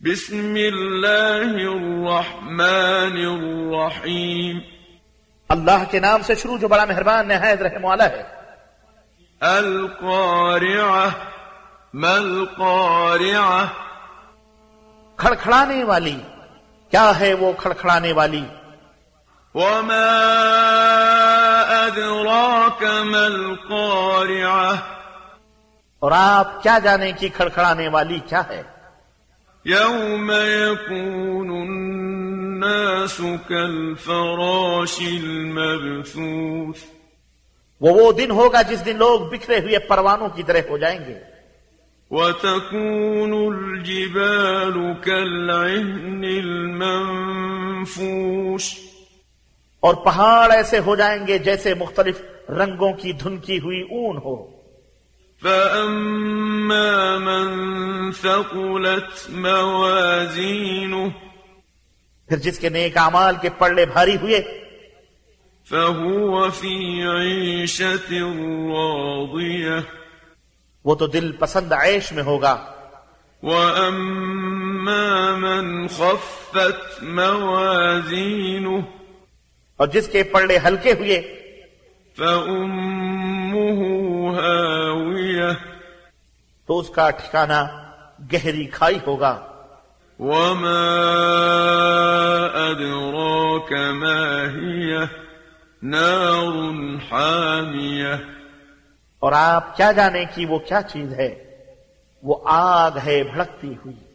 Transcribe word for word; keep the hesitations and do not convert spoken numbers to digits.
بسم اللہ الرحمن الرحیم. اللہ کے نام سے شروع جو بڑا مہربان نہایت رحم والا ہے. القارعہ ما القارعہ کھڑکھڑانے والی، کیا ہے وہ کھڑکھڑانے والی؟ وما ادراک ما القارعہ اور آپ کیا جانیں کہ کھڑکھڑانے والی کیا ہے؟ یوم یکون الناس کالفراش المبثوث وہ وہ دن ہوگا جس دن لوگ بکھرے ہوئے پروانوں کی طرح ہو جائیں گے. وتكون الجبال كالعهن المنفوش اور پہاڑ ایسے ہو جائیں گے جیسے مختلف رنگوں کی دھنکی ہوئی اون ہو. فأما من ثقلت موازینه پھر جس کے نیک اعمال کے پلڑے بھاری ہوئے فهو في عيشة راضية وہ تو دل پسند عیش میں ہوگا. وأما من خفت موازینه اور جس کے پلڑے ہلکے ہوئے فأمه هاوية تو اس کا ٹھکانہ گہری کھائی ہوگا. وما أدراك ما هي نار حامیہ اور آپ کیا جانیں کہ وہ کیا چیز ہے؟ وہ آگ ہے بھڑکتی ہوئی.